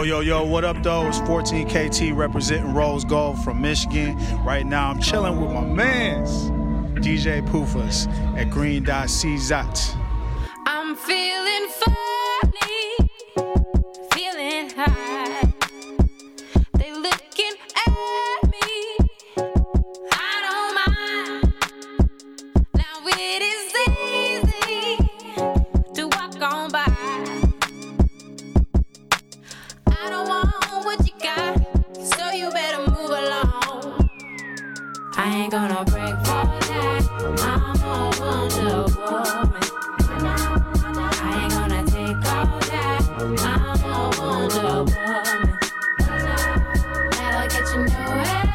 Yo, what up, though? It's 14KT representing Rose Gold from Michigan. Right now, I'm chilling with my mans, DJ Poofus at Green Dot CZAT. I'm feeling funny, feeling high. They looking at me, I don't mind. Now it is easy to walk on by. I don't want what you got, so you better move along. I ain't gonna break for that, I'm a Wonder Woman. I ain't gonna take all that, I'm a Wonder Woman. That'll get you nowhere.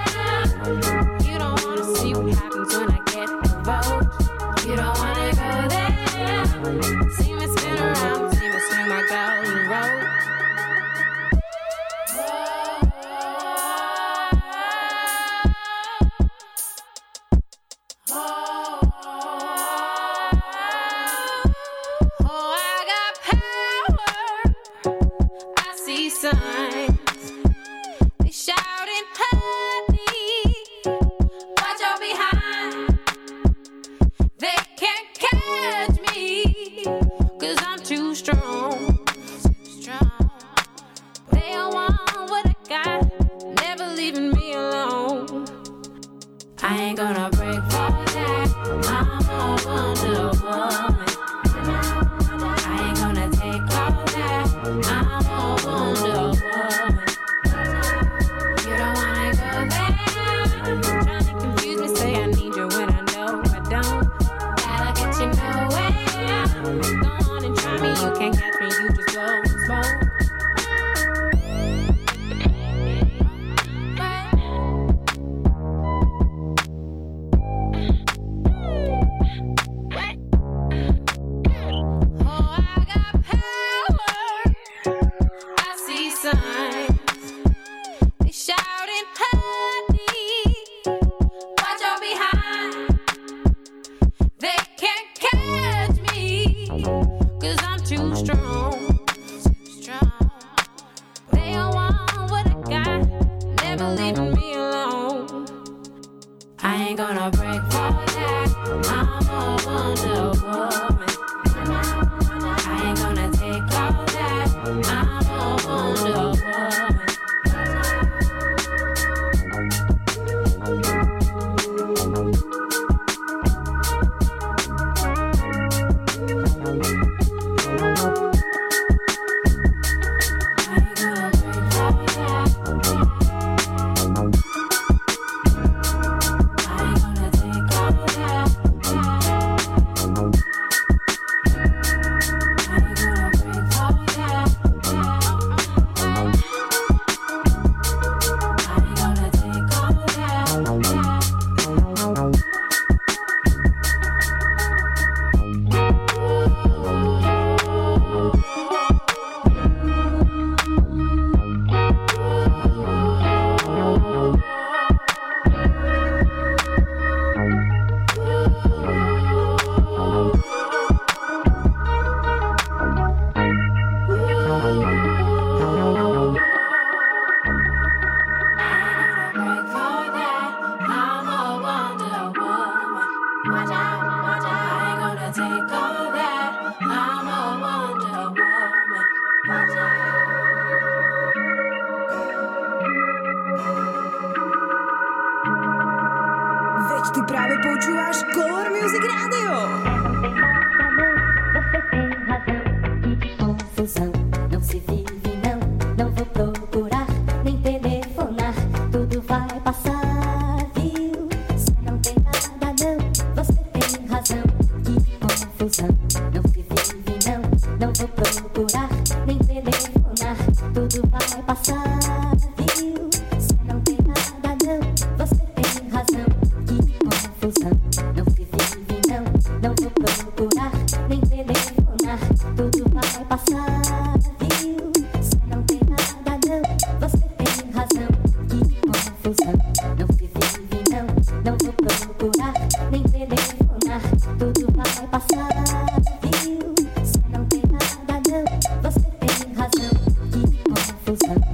You don't wanna see what happens when I get provoked. You don't wanna go there. See me spin around, see me swing my golden road. Você tem razão, que confusão.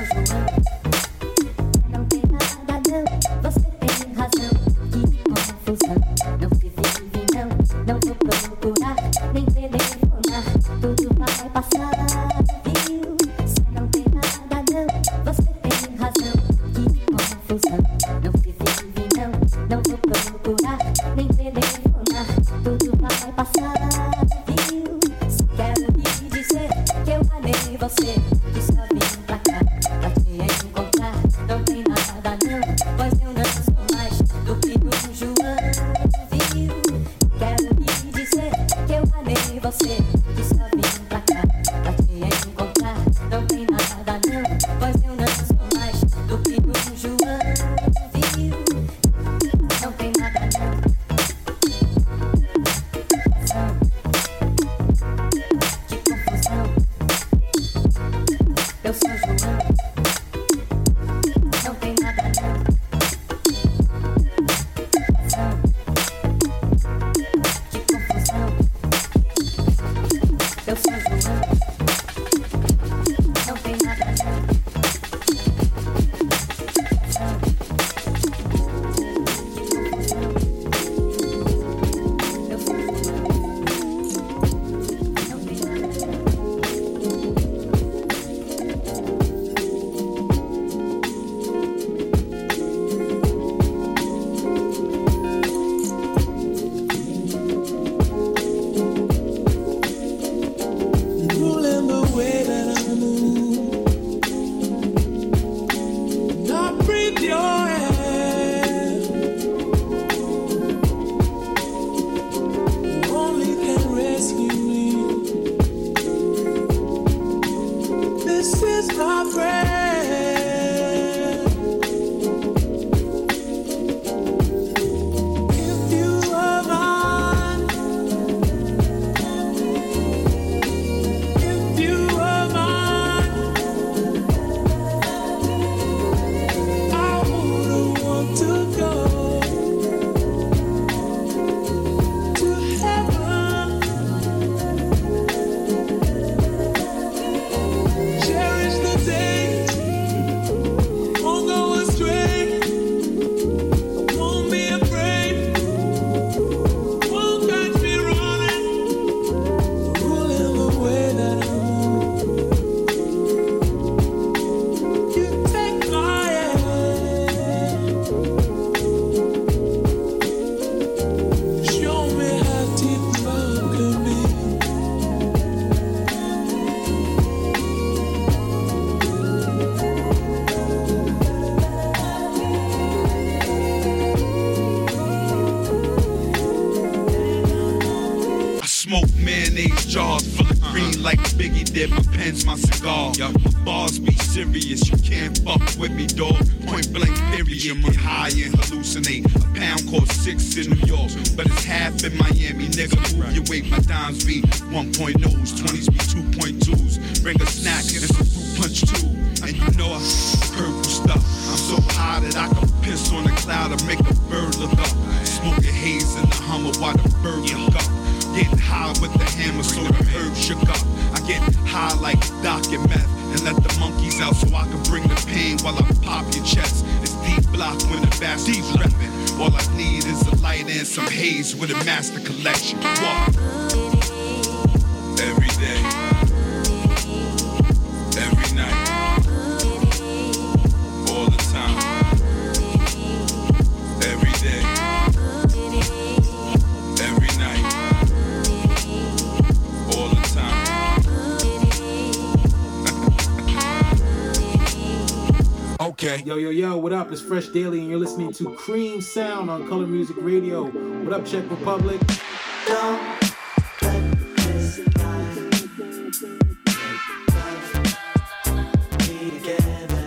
did, my pen's my cigar. My bars be serious, you can't fuck with me, dog. Point blank period, get high and hallucinate. A pound costs 6 in New York, but it's half in Miami, nigga. Move your weight, my dimes be 1.0s, 20s be 2.2s. Bring a snack and some fruit punch too. And you know I purple stuff. I'm so high that I can piss on a cloud and make a bird look up. Smoking haze in the Hummer while the bird look up. Getting high with the hammer so the herb shook up. I get high like Doc and meth and let the monkeys out so I can bring the pain while I pop your chest. It's deep block when the bastards reppin'. All I need is a light and some haze with a master collection. What? Every day, every night, all the time, every day, every night, all the time. Okay. Yo, what up? It's Fresh Daily, and you're listening to Cream Sound on Color Music Radio. What up, Czech Republic? Don't let this time be together.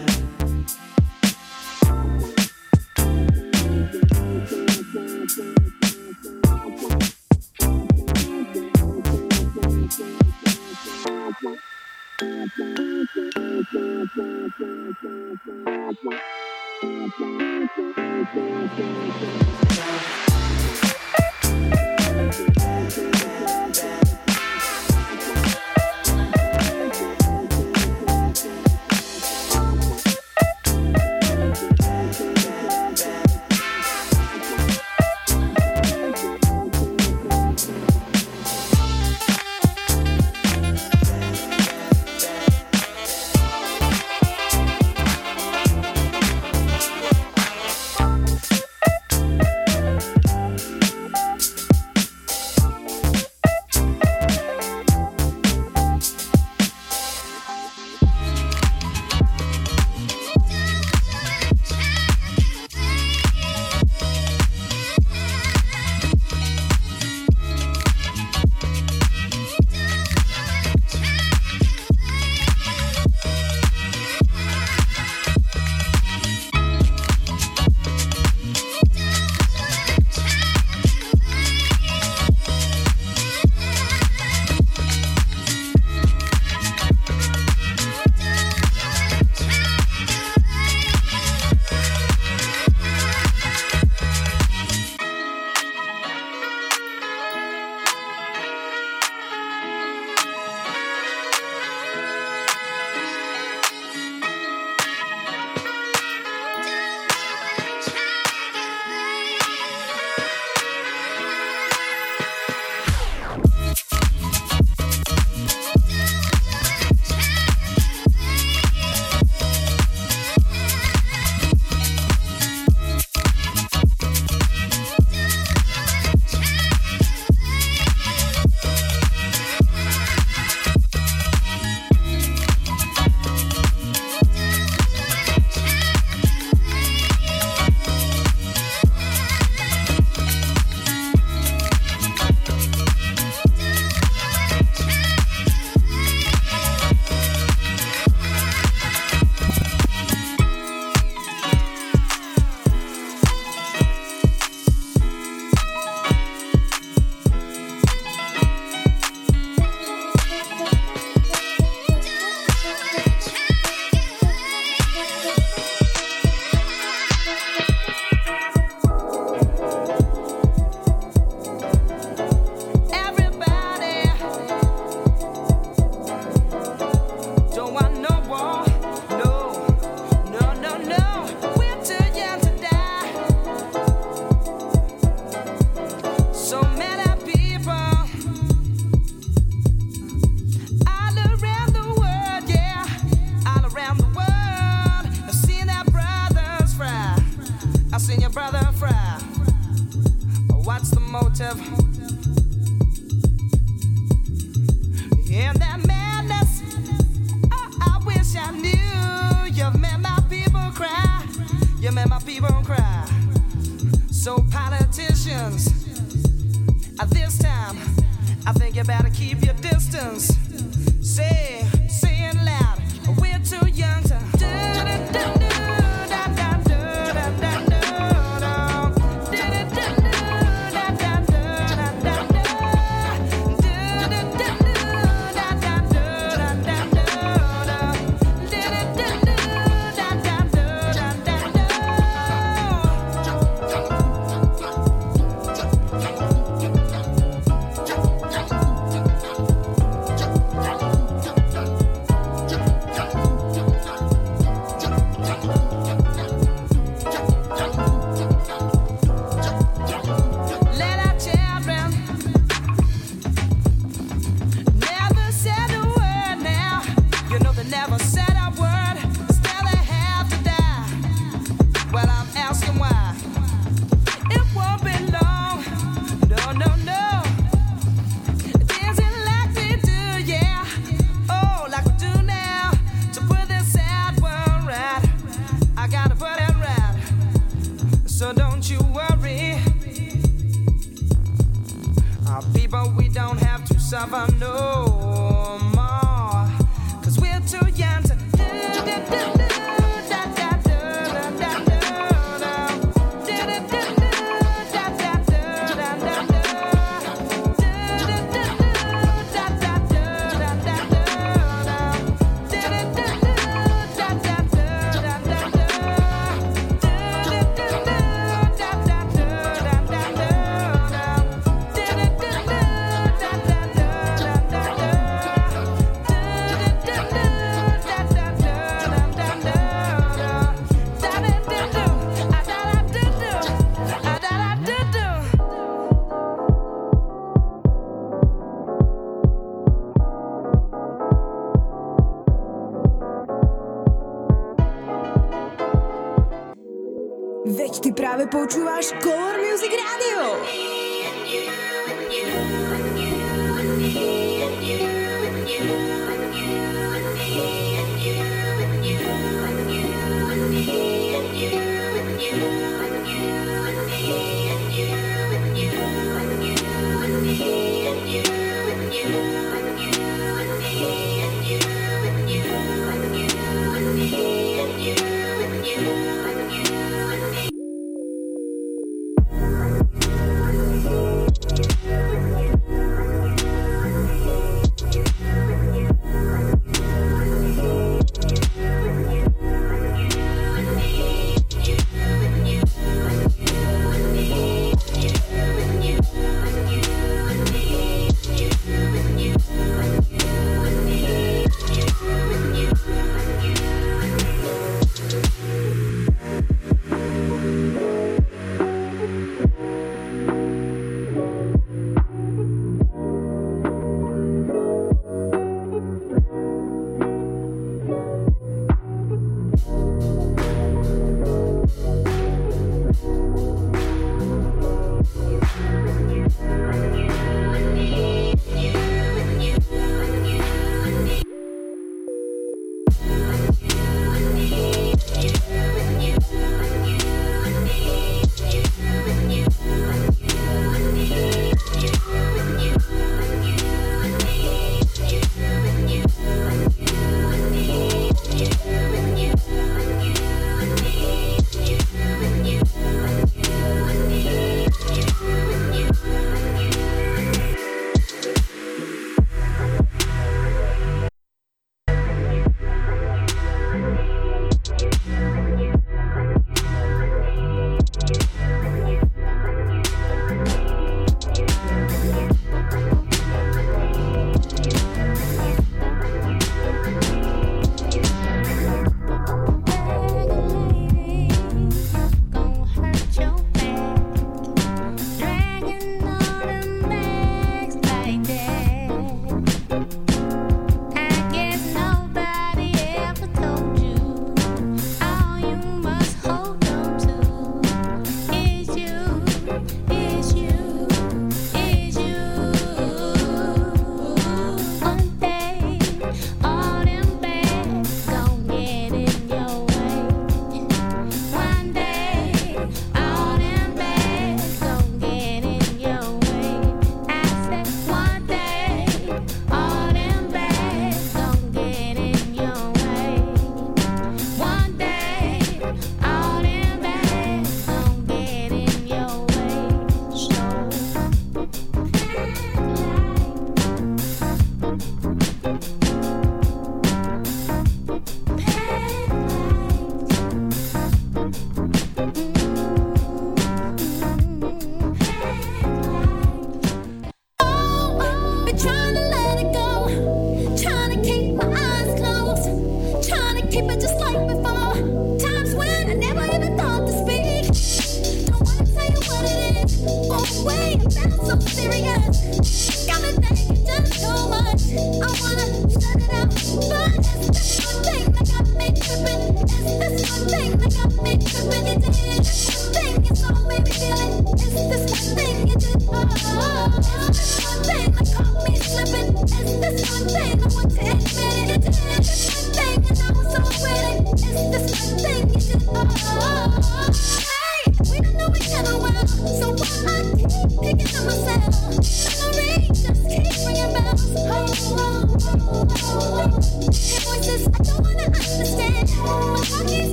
Veď ty právě počúváš Color Music Radio.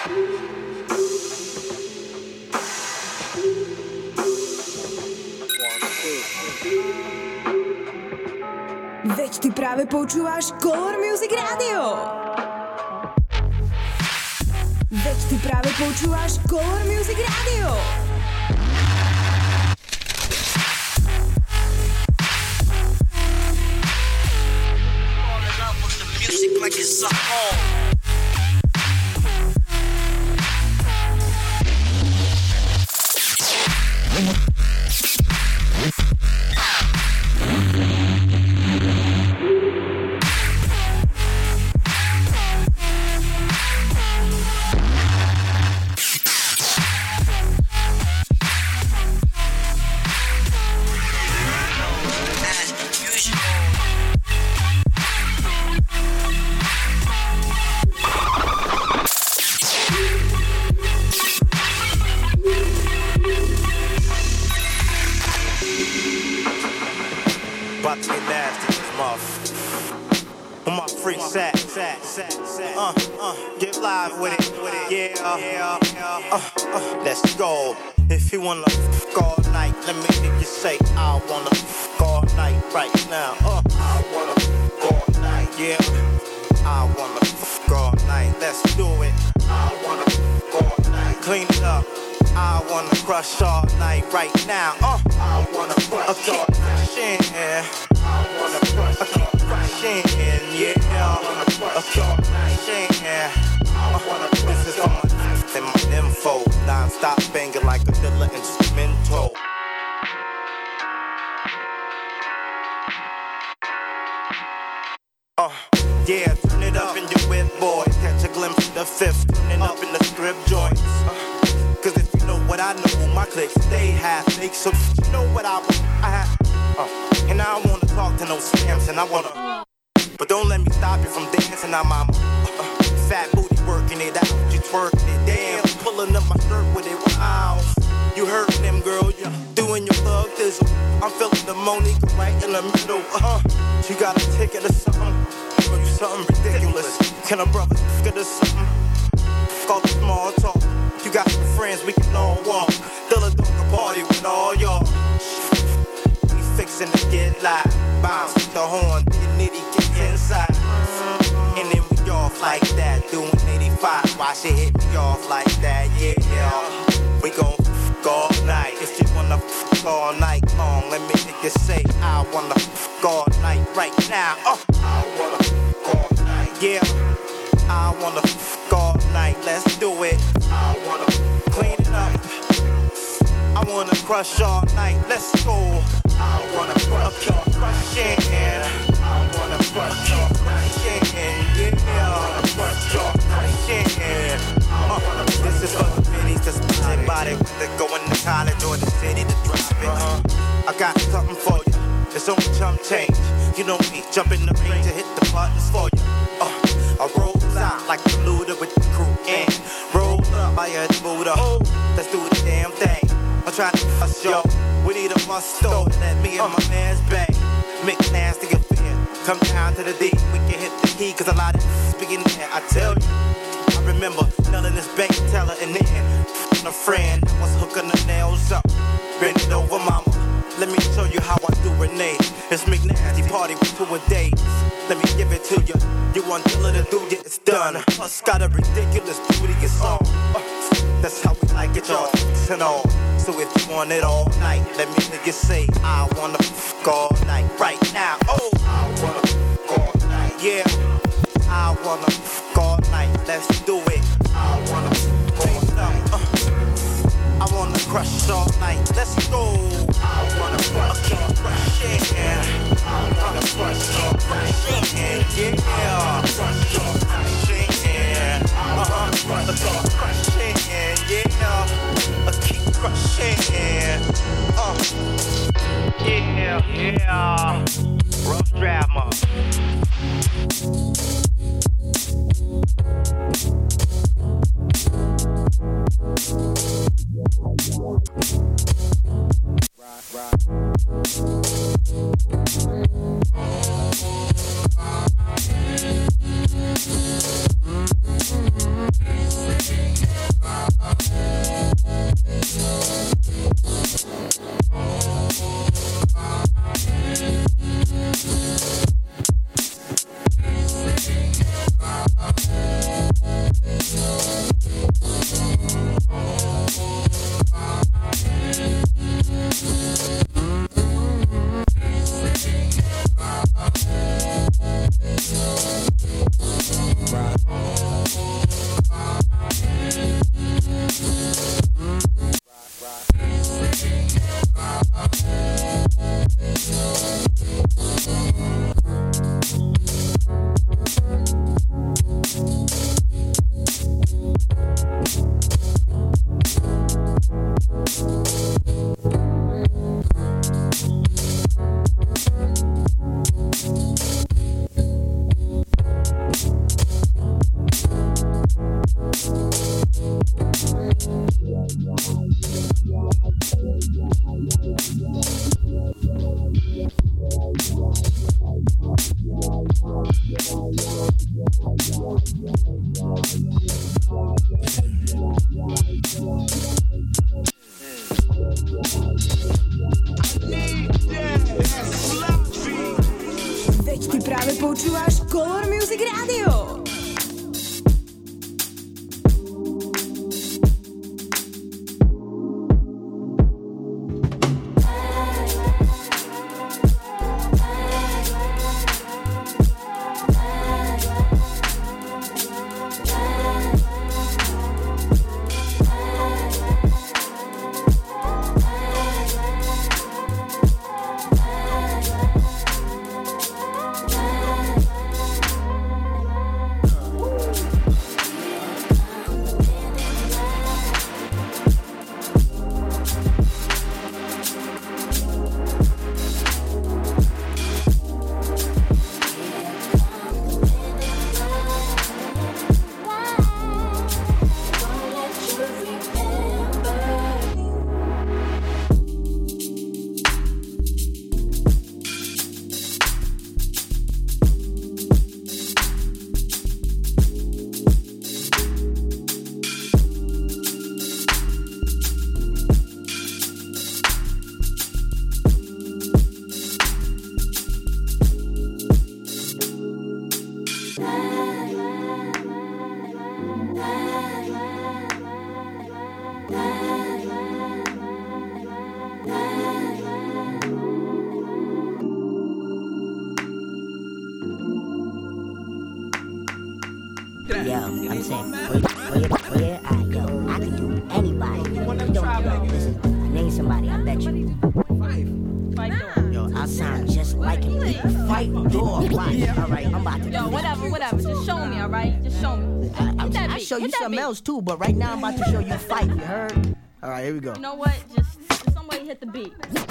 Veď ty práve počúvaš Color Music Radio. Veď ty práve počúvaš Color Music Radio. Like it's a home. Get live with it, yeah. Let's go. If you wanna fuck all night, let me hear you say, I wanna fuck all night right now. I wanna fuck all night, yeah. I wanna fuck all night. Let's do it. I wanna fuck all night. Clean it up. I wanna crush all night right now. I wanna crush all night. Yeah. I wanna crush all night. Yeah. I wanna crush all night. Yeah. This is for my info. Non-stop banging like a Dilla instrumental. Yeah, turn it up in your whip, boy. Catch a glimpse of the fifth. Turning up in the strip joints. Cause if you know what I know, my clicks, they have fakes. So you know what I have. And I don't wanna talk to no scams, and I wanna. But don't let me stop you from dancing, I'm fat booty working it out, you twerking it, damn, pulling up my skirt with it, wow. You heard them, girl, you doing your thug thizzle. I'm feeling the Monica right in the middle, You got a ticket or something, or you something ridiculous. Can a brother get us something? Call the small talk. You got some friends, we can all walk. Fill a dog a party with all y'all. We fixing to get live. Bounce with the horn, the nitty get inside. And then we off like that, doing 85. Why she hit me off like that, yeah. We gon' fuck all night. If you wanna fuck all night long, let me hear you say, I wanna fuck all night right now. I wanna fuck all night, yeah. I wanna fuck all night, let's do it. I wanna clean it up. I wanna crush all night, let's go. I wanna crush your crushing. I wanna crush your crushing, yeah. I wanna crush your crushing. This is for the biddies that's been about it. They're going to college or the city to drop it. I got something for you. It's only chump change. You know me, jump in the ring to hit the buttons for you. I roll out like the looter with the crew and roll up by a Buddha. Let's do the damn thing. I'm trying to bust yo. We need a must-go. Let me and my man's bang. Make nasty affair. Come down to the D. We can hit the key, cause a lot of speaking there. I tell you. I remember nailing this bank teller and then a friend was hooking the nails up. Bend it over, mama. Let me show you how I do Renee. It's McNasty party with 2 a day. Let me give it to you. You want Dilla to do it, it's done. Us got a ridiculous beauty and song. That's how we like it, y'all. And all. So if you want it all night, let me hear you say, I wanna fuck all night right now. I wanna fuck all night, yeah. I wanna fuck all night, let's do it. I wanna fuck all night. I wanna crush all night, let's go. I wanna crush your crushing. I wanna crush your crushing, yeah. Crush your crushing, crush your crushing, yeah. Keep crushing, yeah. Rough drama. Veď ty práve počúvaš Color Music Radio. Yo, I'm saying, where I go, I can do anybody. You don't know. Listen, name somebody, I bet you. Yo, I sound just like him. Fight door. Right. All right, I'm about to. Yo, whatever. Just show me, all right? Just show me. I'll show you something else too, but right now I'm about to show you fight. You heard? All right, here we go. You know what? Just somebody hit the beat.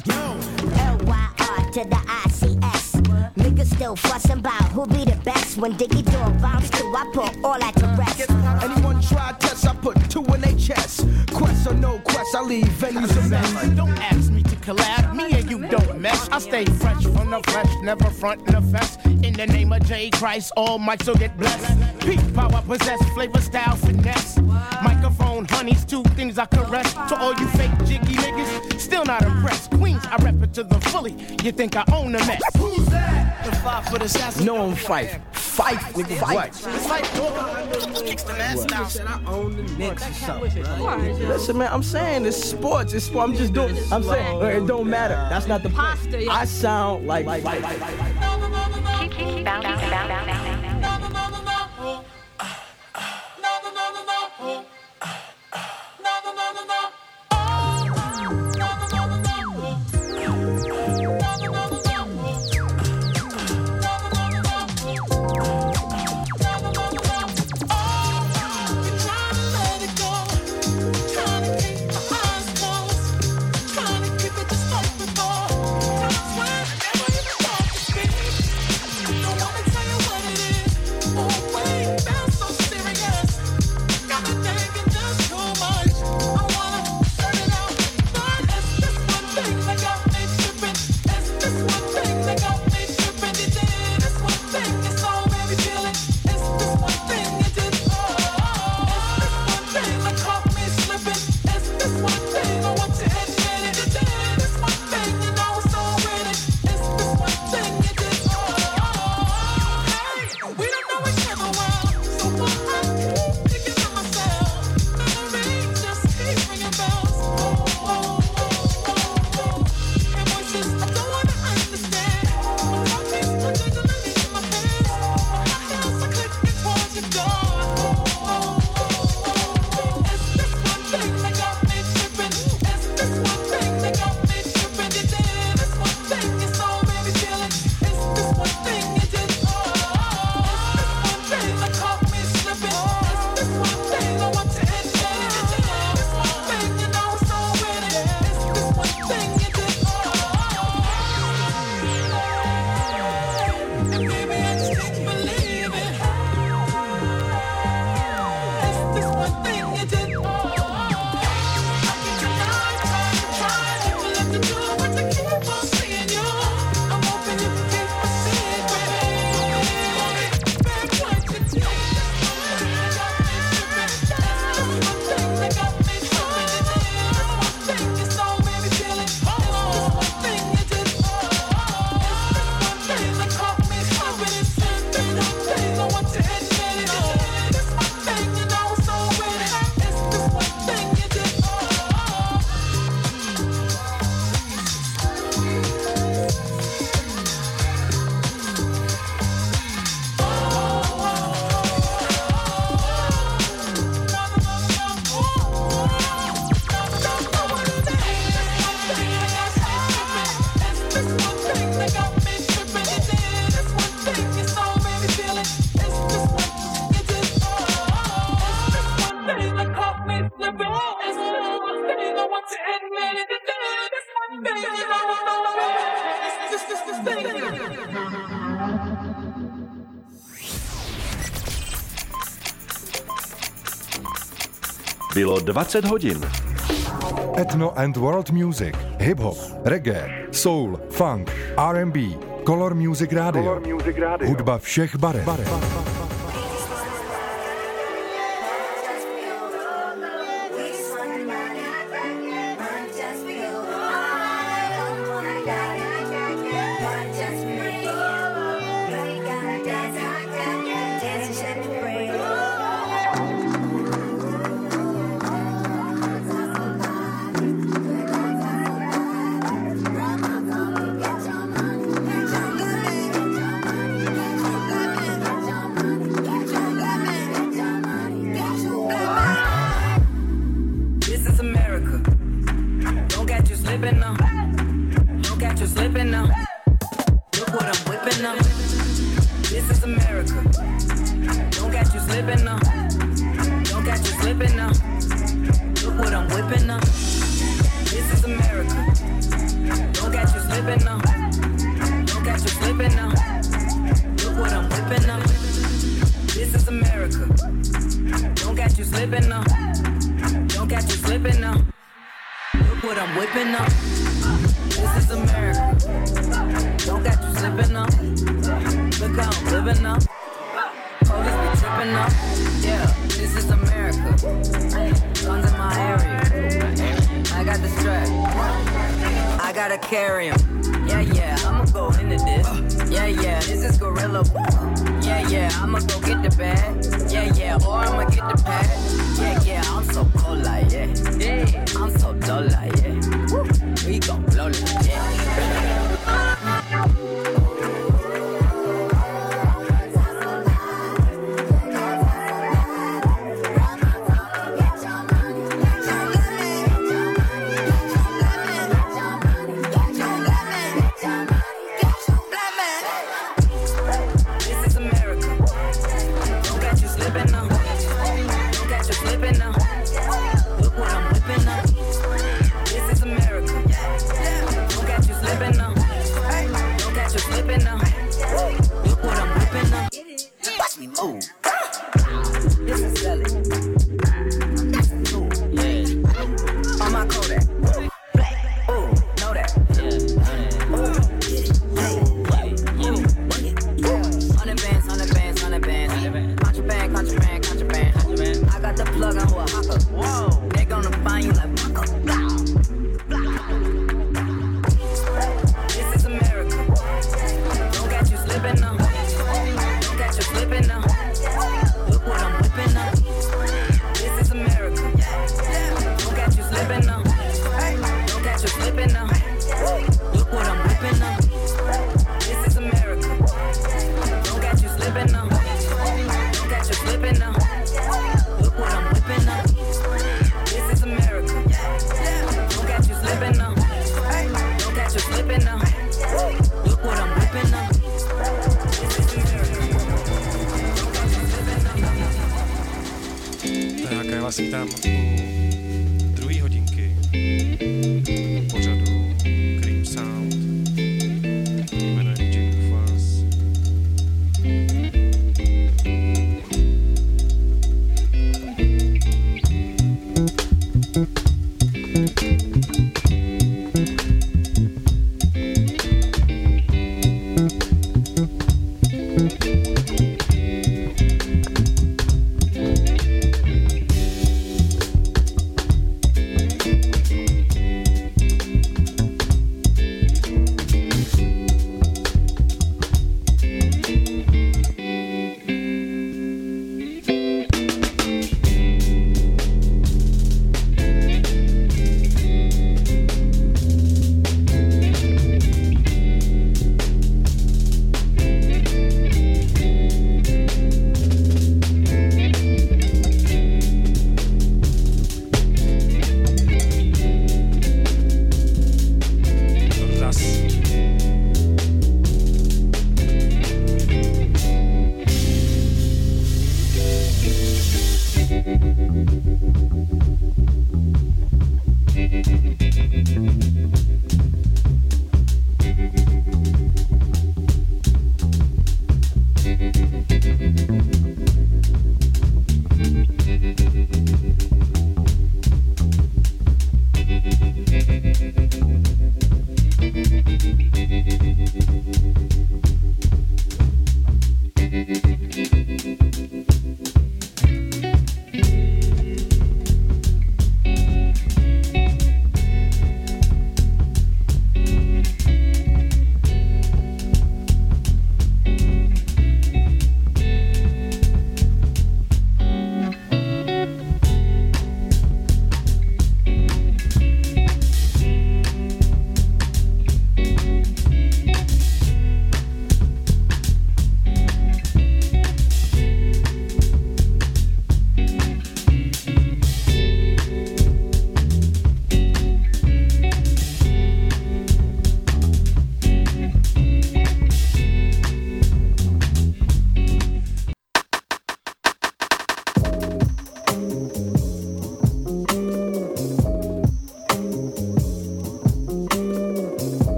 L-Y-R to the I-C-S. Niggas still fussing about who be the best. When Diggy Dog bounce to, I put all that to rest. Anyone try tests, I put 2 in their chest. Quest or no quest, I leave venues a mess. Don't ask me to collab, me and you don't mess. I stay fresh from the flesh, never front in the fest. In the name of J. Christ, all mics will get blessed. Peak power possess, flavor, style, finesse. Microphone, honeys, 2 things I caress. To all you fake jiggy niggas, still not impressed. Queens, I rep it to the fully. You think I own the mess? Who's that? The 5 foot assassin. No, I'm Fife. Fife, nigga, fight. Kicks the mask down. Said I own the Knicks or something. Listen, man, I'm saying it's sports. It's sport. I'm just doing. I'm saying it don't matter. That's not the point. I sound like. Keep bouncing. Bylo 20 hodin. Ethno and World Music, hip-hop, reggae, soul, funk, R&B, Color Music Radio. Hudba všech barev.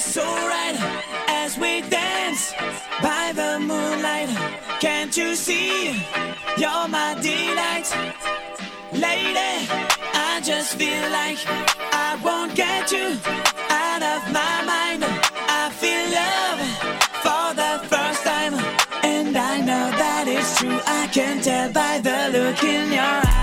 just so right as we dance by the moonlight. Can't you see? You're my delight. Lady, I just feel like I won't get you out of my mind. I feel love for the first time, and I know that it's true. I can tell by the look in your eyes.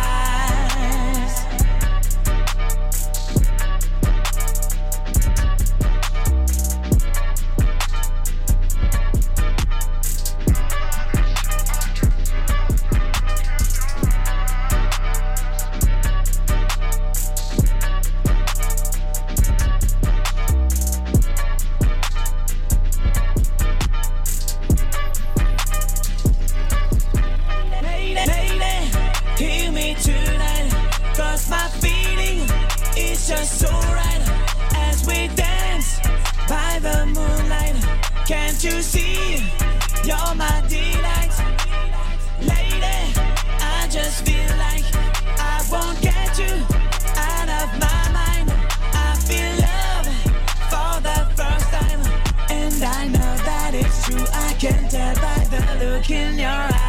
Just so right as we dance by the moonlight. Can't you see? You're my delight. Lady, I just feel like I won't get you out of my mind. I feel love for the first time, and I know that it's true. I can tell by the look in your eyes.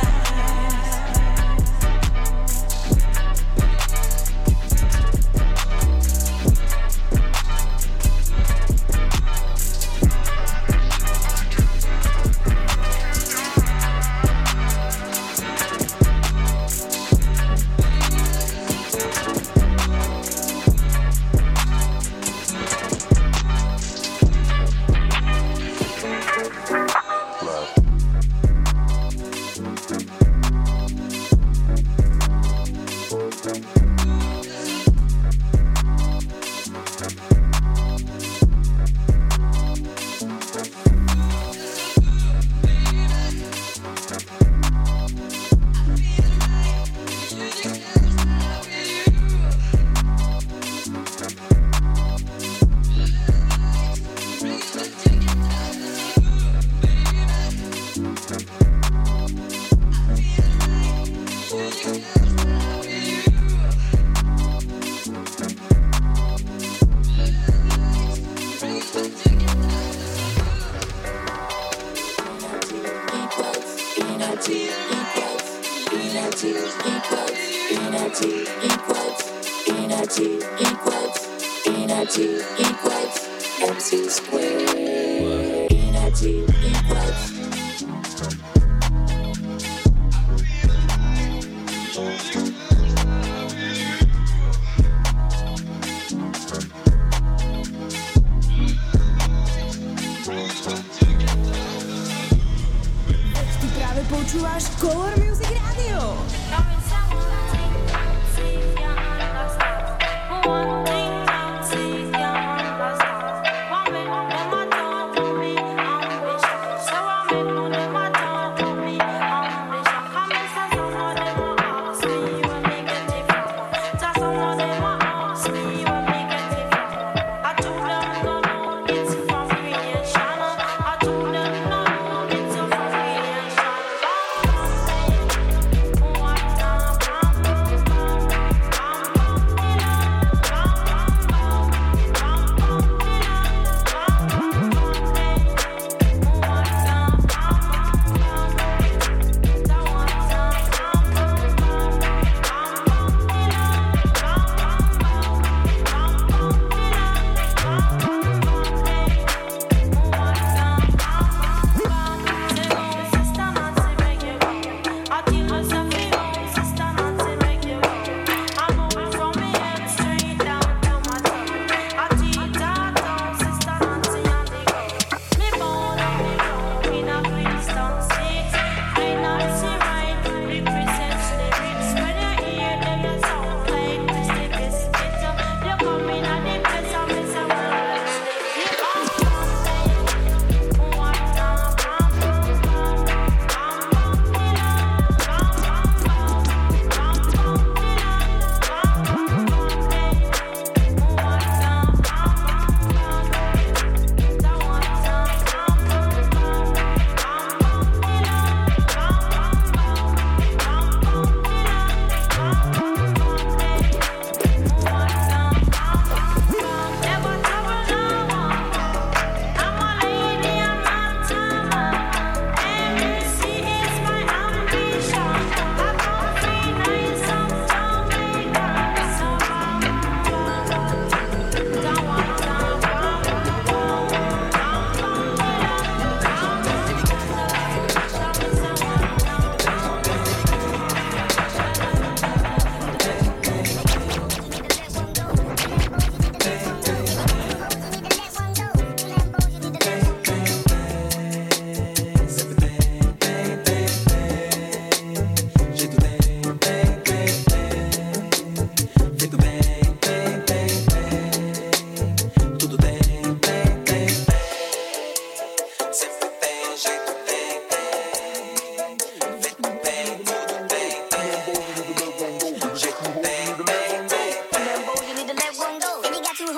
Počúvaš Color Music Radio.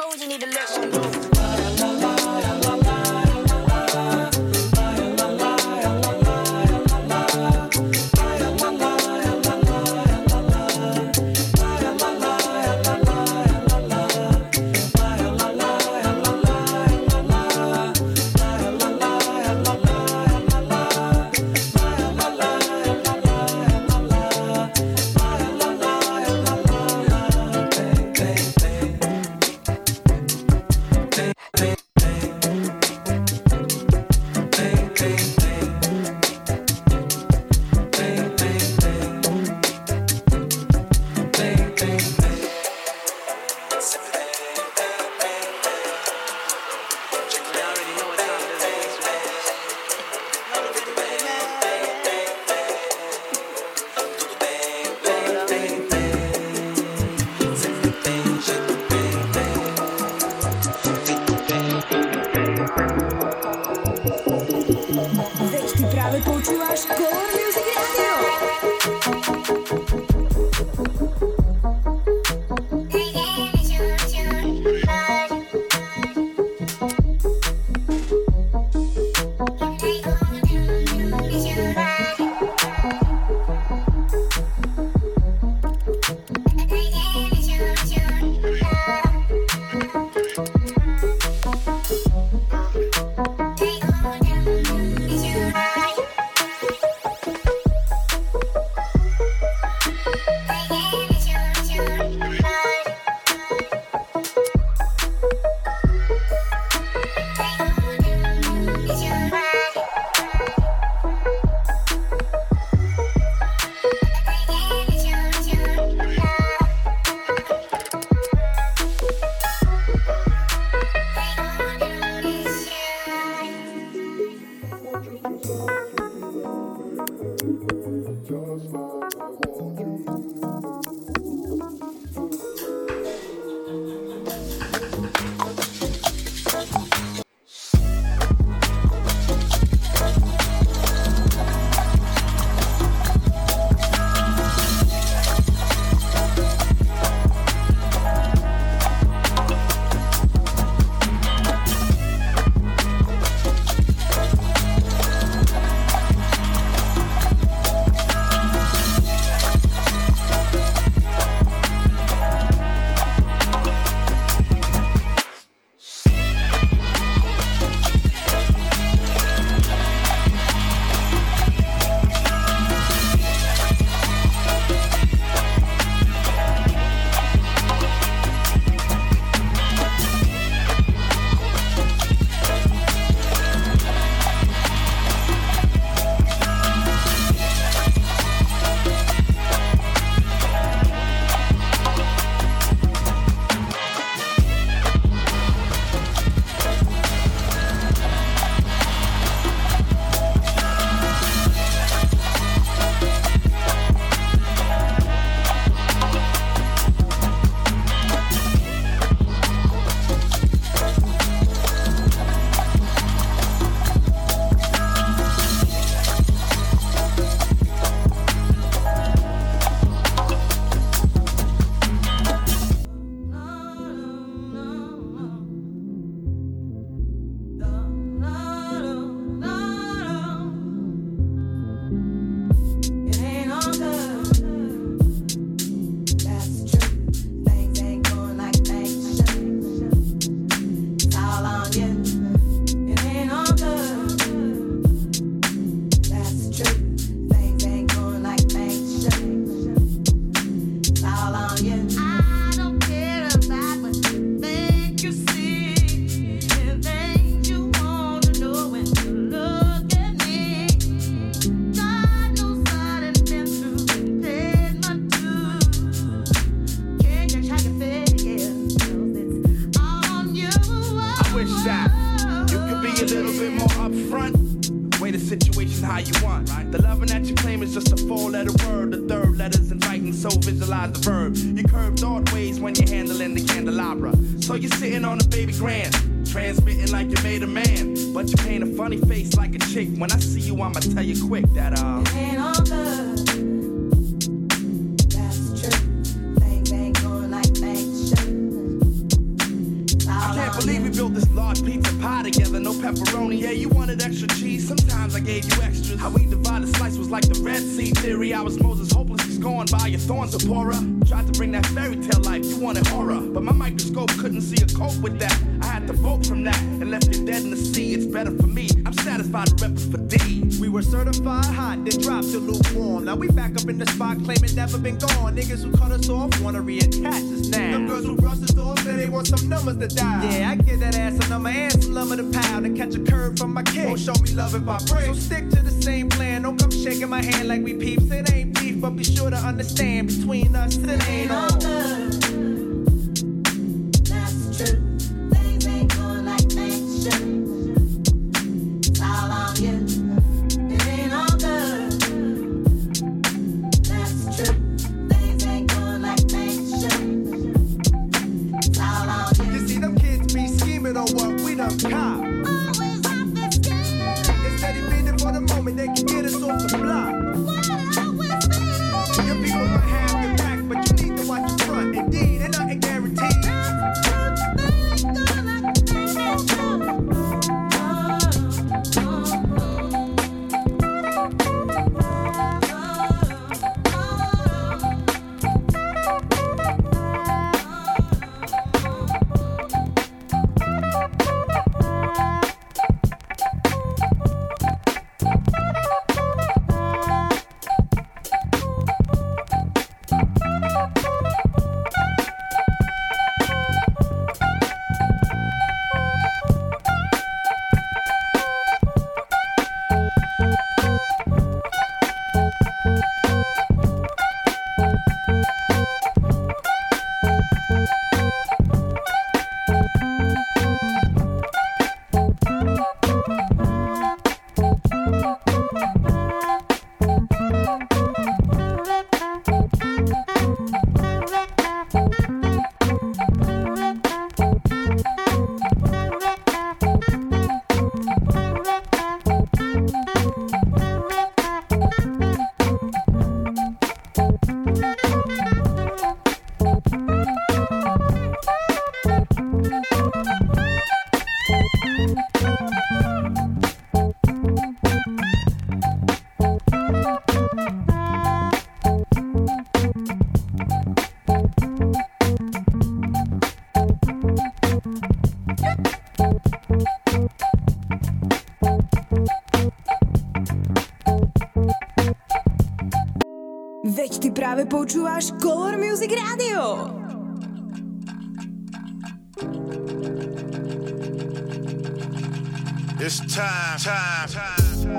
hoes, you need to listen, bro. believe we built this large pizza pie together, no pepperoni. Yeah, you wanted extra cheese, sometimes I gave you extras. How we divided slice was like the Red Sea theory. I was Moses, hopelessly scorned by your thorns, Zipporah. Tried to bring that fairy tale life, you wanted horror, but my microscope couldn't see a cope with that. I had to vote from that and left you dead in the sea. It's better for me, I'm satisfied to rep for D. We were certified hot, then dropped to lukewarm. Now we back up in the spot, claiming never been gone. Niggas who cut us off wanna reattach us now. Them girls who rush the door say they want some numbers to dial. Yeah, I get that ass a number and some love of the pound and catch a curve from my kid. Won't show me love if I break. So stick to the same plan. Don't come shaking my hand like we peeps. It ain't beef, but be sure to understand between us it ain't all good. That's true. Things ain't going like they should. It's all on you. It ain't all good. That's true. Things ain't going like they should. It's all on you. You see them kids be scheming on what we done cop. Always off the scale. They steady feeding for the moment they can get us off the block. Your people might have your back, but you need to watch your front. Indeed, ain't nothing guaranteed. Veď ty právě počúváš Color Music Radio. It's time.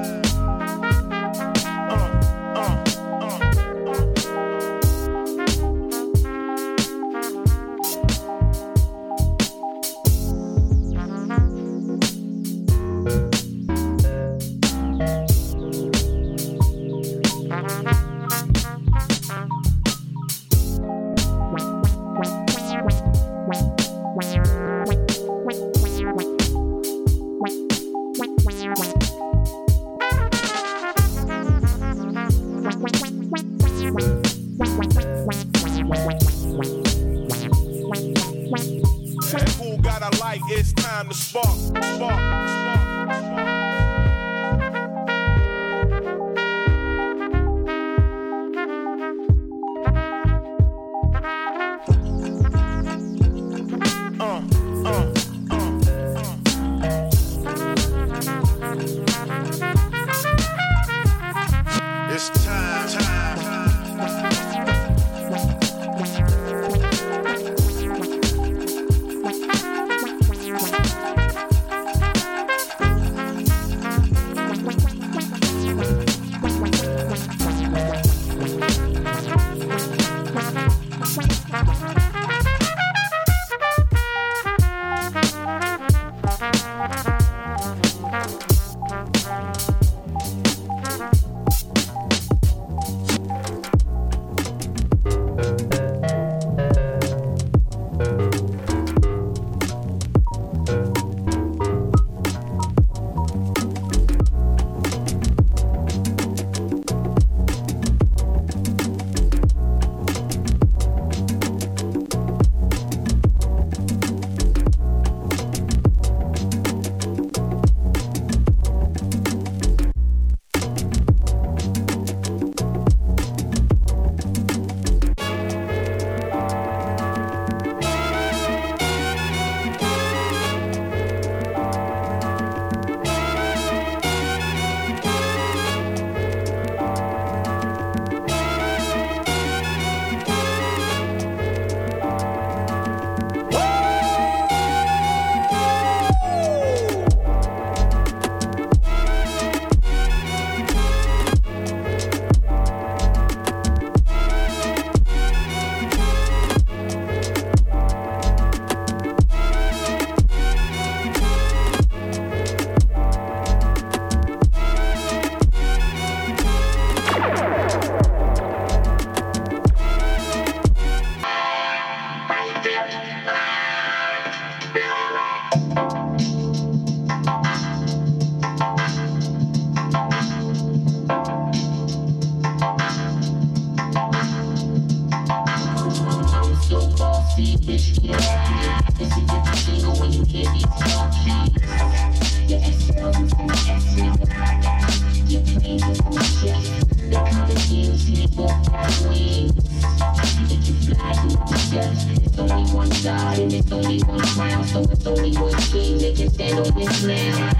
Who got a light? It's time to spark. It's time. It's only one God and it's only one crown, so it's only one king that can stand on this land.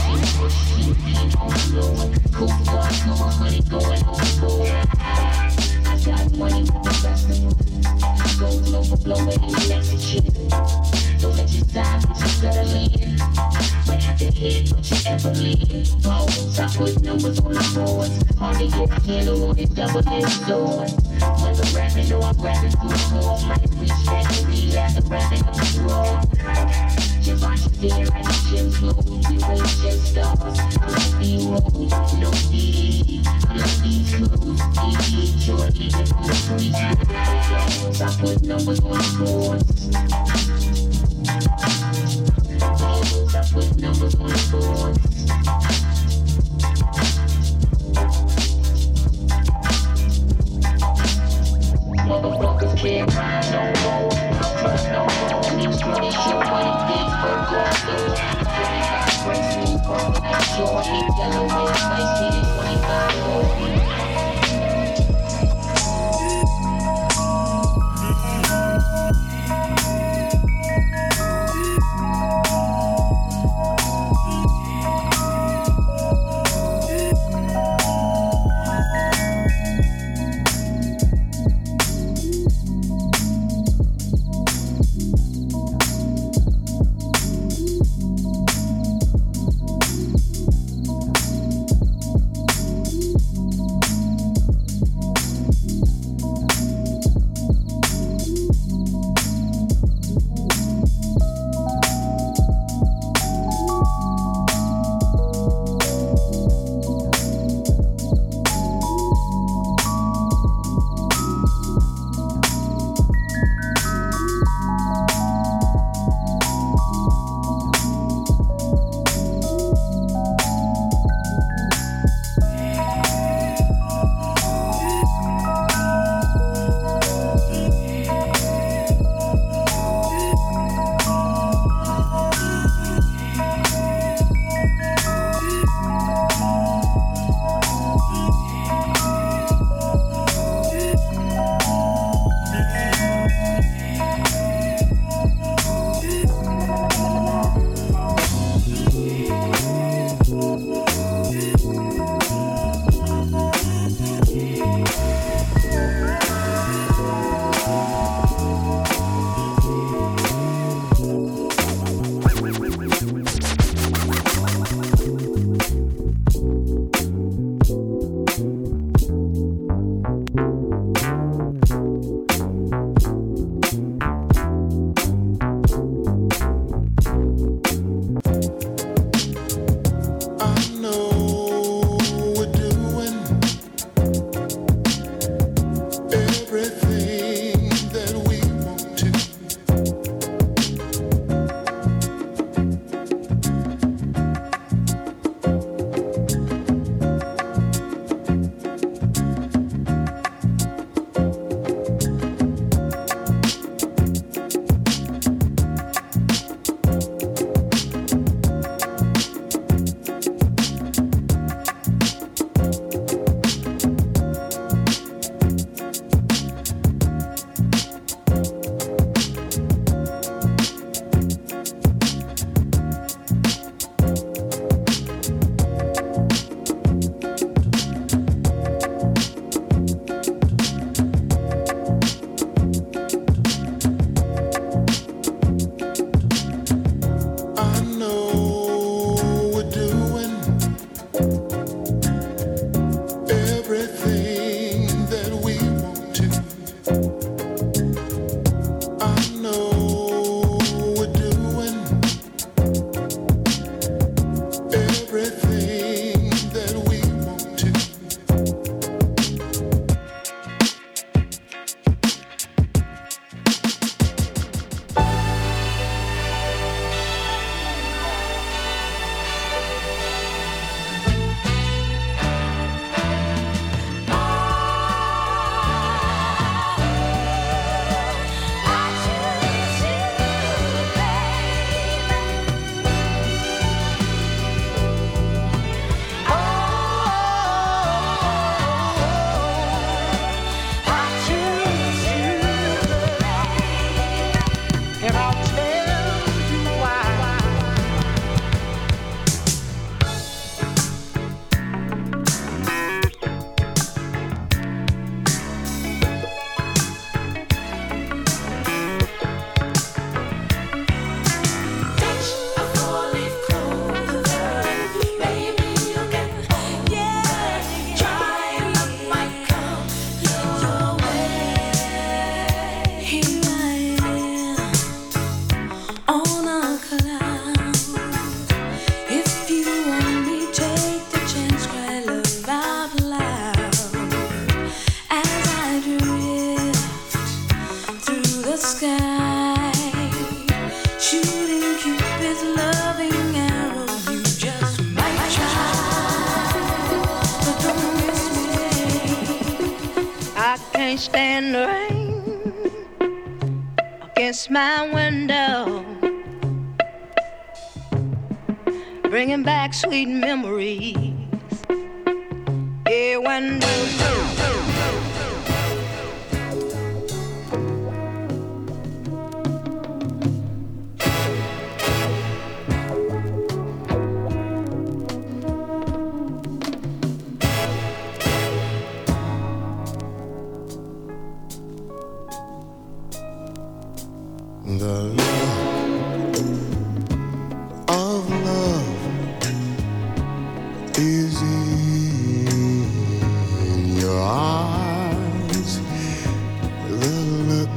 Cool God, so my money going overboard. I got money with the best of them. I go global, blowing in the next shit. Don't let your side put you settling. But at the head, don't you ever leave. Balls, I put numbers on the boards. Hardly get a handle on this double-edged sword. Whether rapping or I'm rapping through the hole, might reach that to be after rapping up the road. Your body stare at the gym floor. You raise jet stars. I like the road, no CD. I like these clothes. Enjoy even for the free balls. I put numbers on the boards. Balls, I put numbers on the boards. Motherfuckers can't ride no more. Trust no more. These money shit money big for God. So breaks me from that short. Hit Delaware, spicy it 25 more. can't stand the rain against my window, bringing back sweet memories. Yeah, when the look of love is in your eyes. The look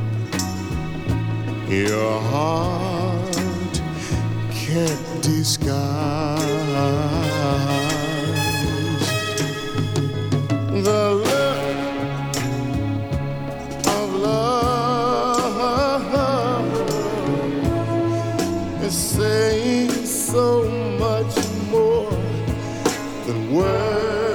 your heart can't disguise. The look of love is saying so much more than words.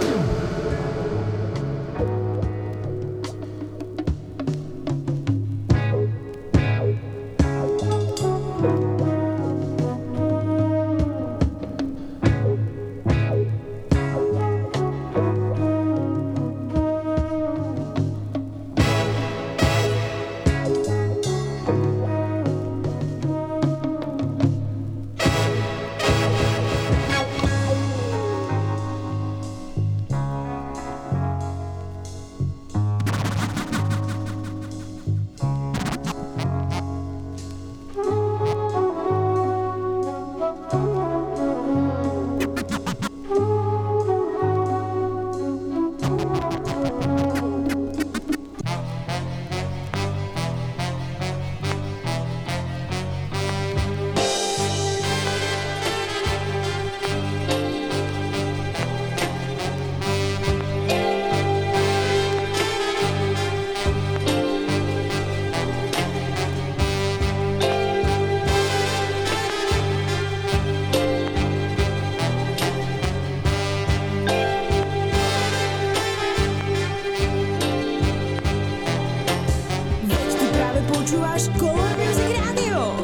Počúvaš Color Music Radio.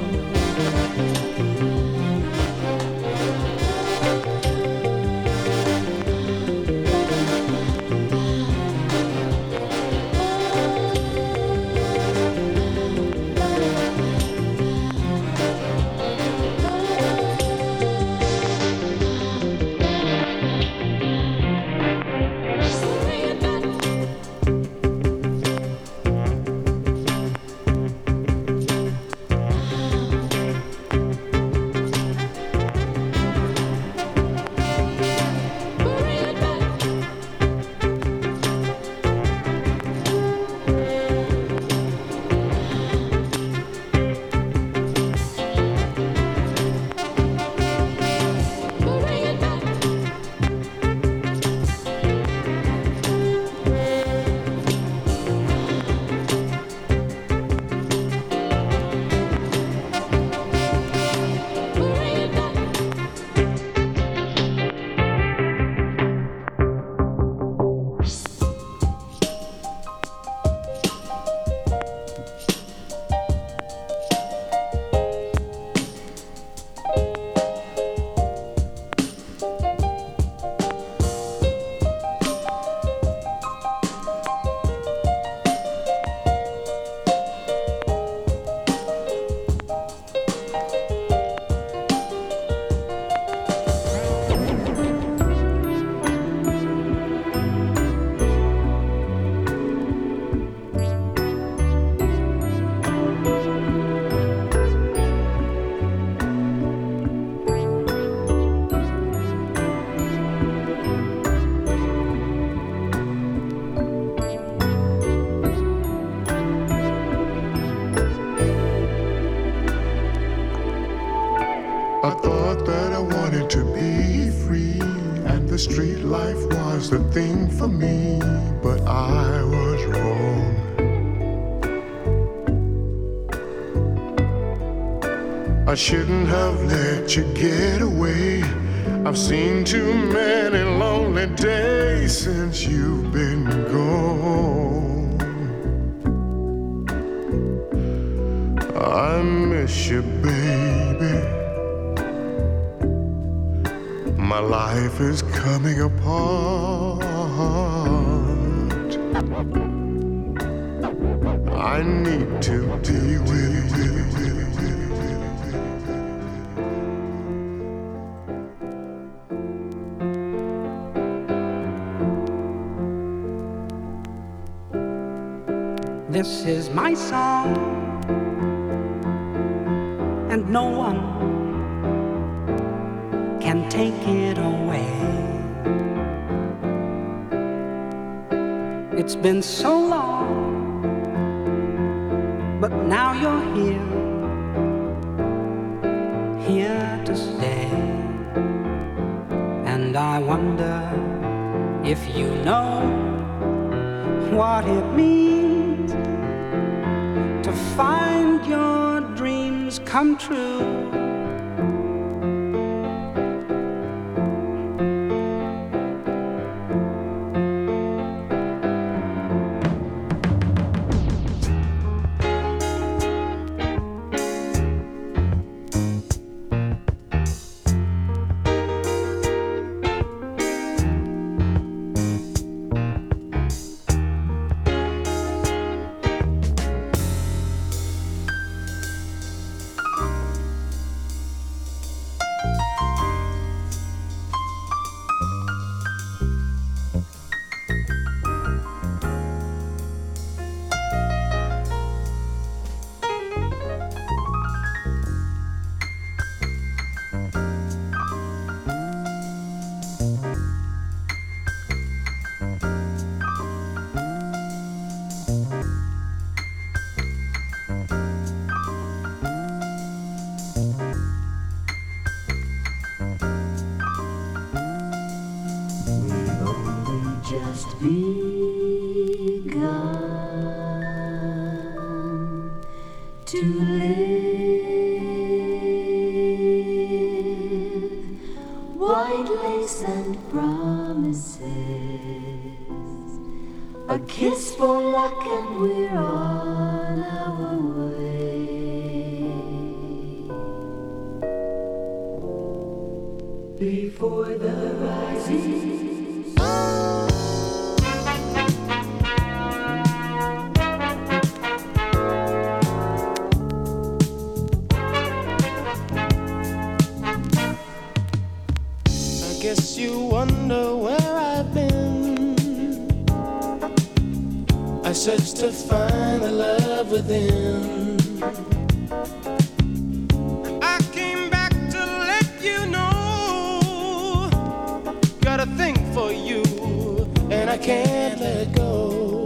I thought that I wanted to be free, and the street life was the thing for me, but I was wrong. I shouldn't have let you get away. I've seen too many lonely days since you've been gone. I miss you, baby. My life is coming apart. I need to be with you. This is my song, and no one can take it away. It's been so long, but now you're here to stay. And I wonder if you know what it means to find your dreams come true. Just begun to live, white lace and promises, a kiss for luck and we're on our way. Before the rising guess you wonder where I've been. I searched to find the love within. I came back to let you know, got a thing for you, and I can't let go.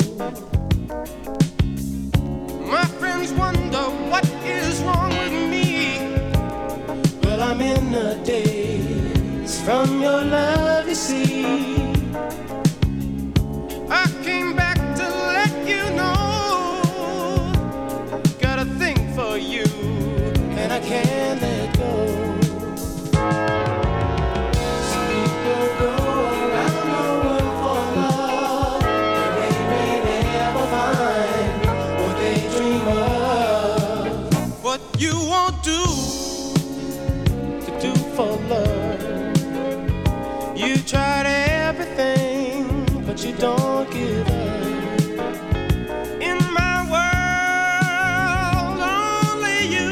My friends wonder what is wrong with me. Well, I'm in a daze from your love, you see. I came back to let you know, got a thing for you, and I can't let go. Some people go around the world for love, and they may never find what they dream of. What you won't do to do for love. You tried everything, but you don't give up. In my world, only you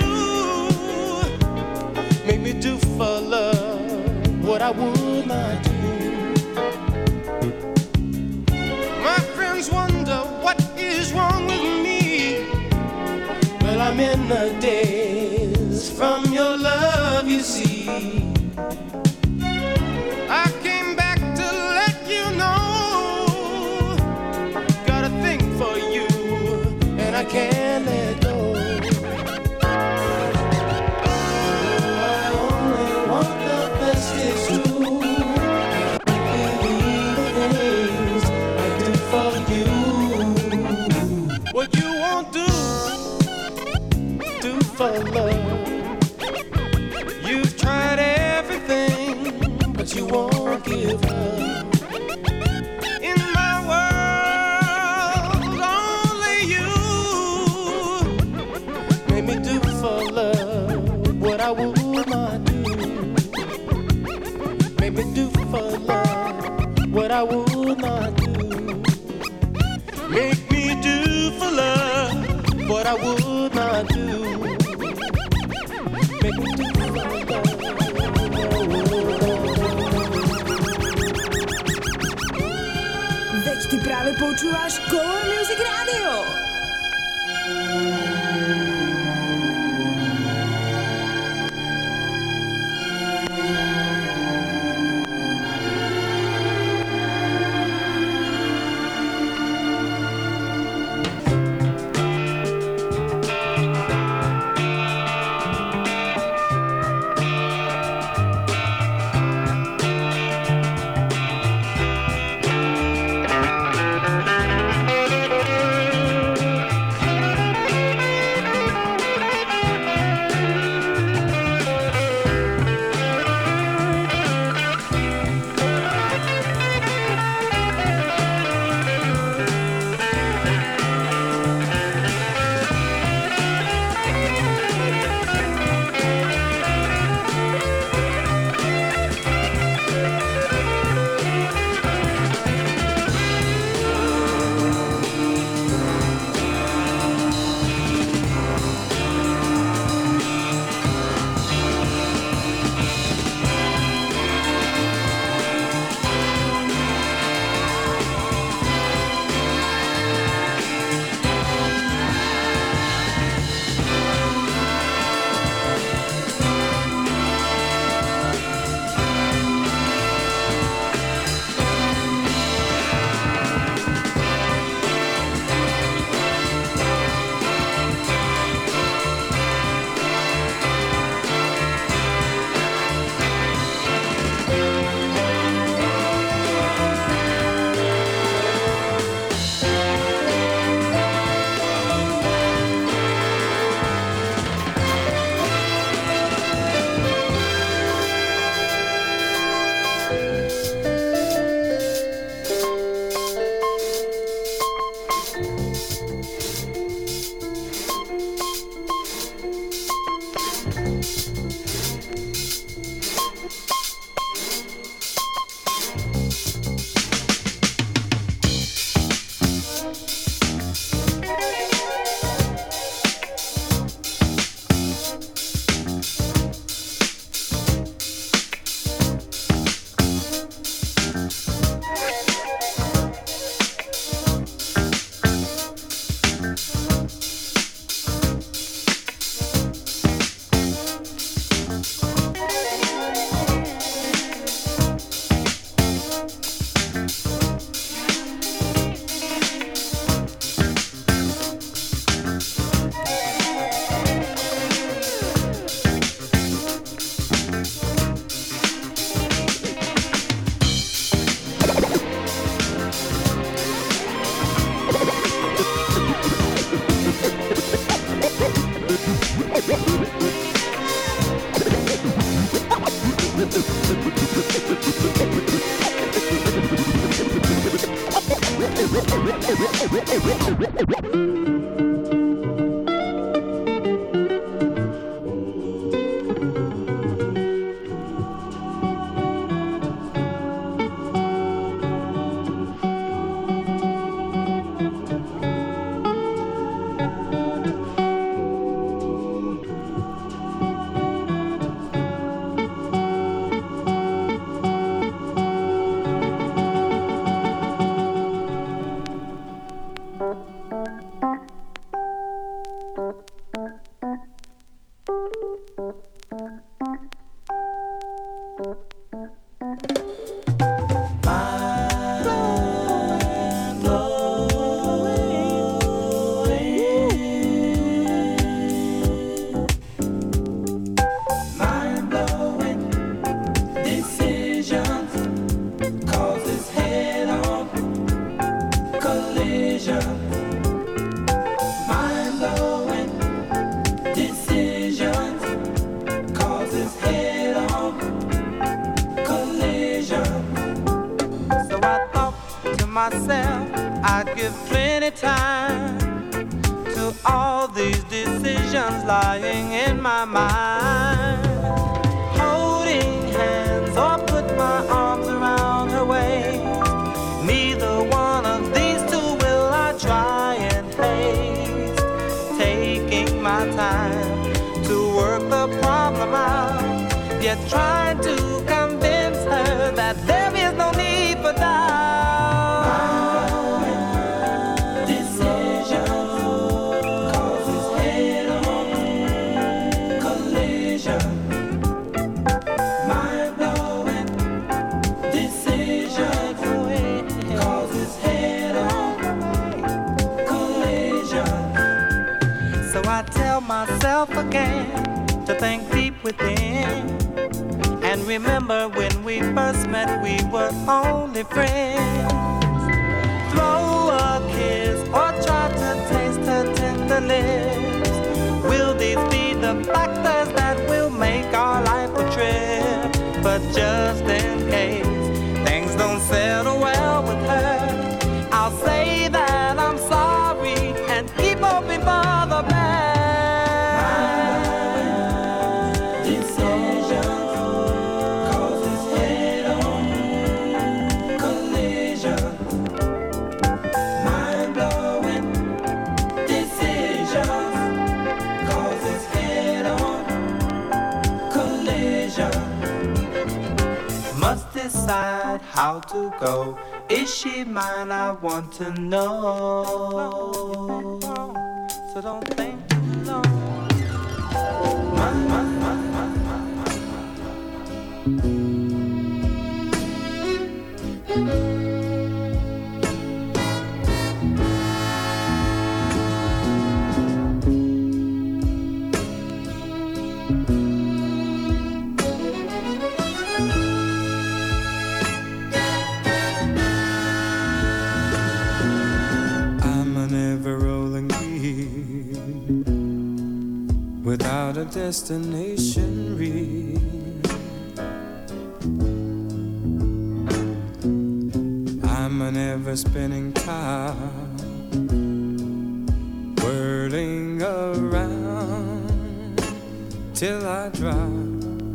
make me do for love what I would not do. My friends wonder what is wrong with me. Well, I'm in the daze from your love, you see. I came back to let you know, got a thing for you, and I can't let go. I only want the best, it's true. Believe the things I do for you. What you won't do for love. You've tried it. I would not do. Make me do Veď ty právě počúvaš Color Music Radio. Myself, I'd give plenty time to all these decisions lying in my mind. Holding hands or put my arms around her waist. Neither one of these two will I try and haste. Take you're trying to convince her that there is no need for doubt. My decision causes head-on collision. Mind-blowing decision causes head-on collision. So I tell myself again to think deep within, and remember when we first met we were only friends. Throw a kiss or try to taste her tender lips. Will these be the factors that will make our life a trip? But just in case things don't settle well with her, I'll say that I'm sorry and keep hoping for the best. Decide how to go. Is she mine? I want to know. So don't think too long. Without a destination real, I'm an ever-spinning top, whirling around till I drop.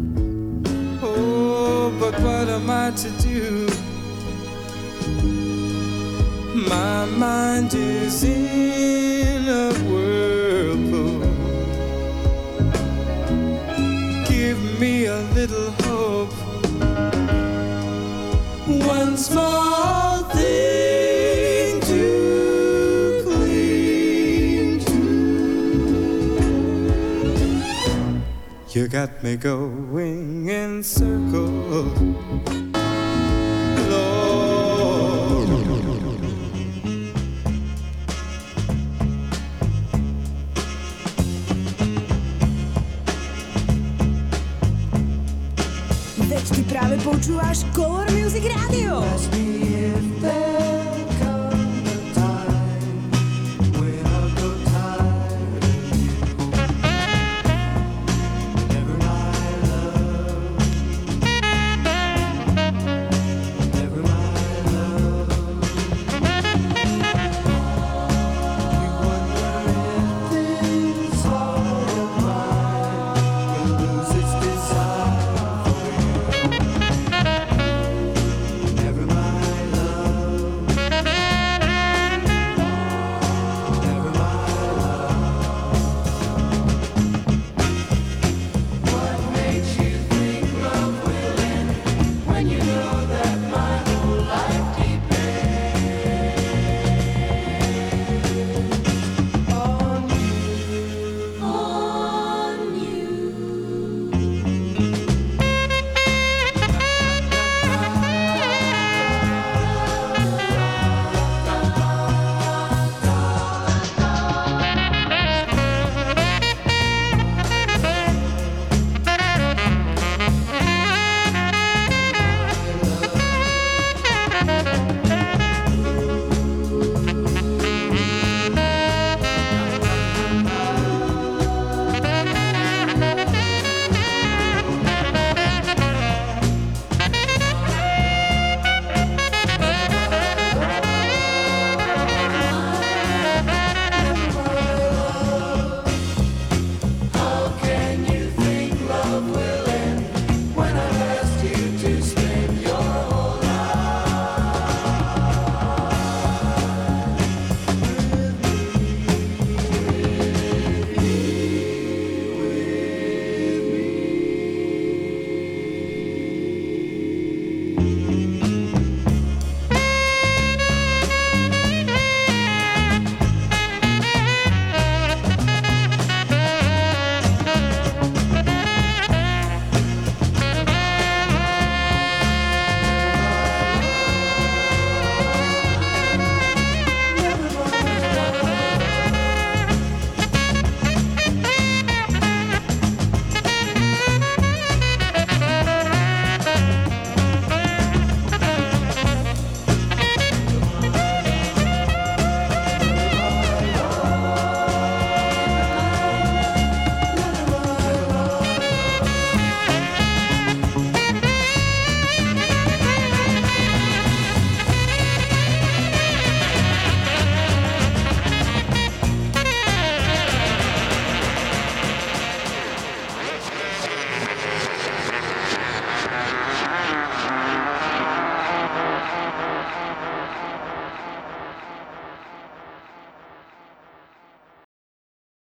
Oh, but what am I to do? My mind is in a whirlpool. Give me a little hope. One small thing to cling to. You got me going in circles, Lord. Teď ty právě počúváš Color Music Radio.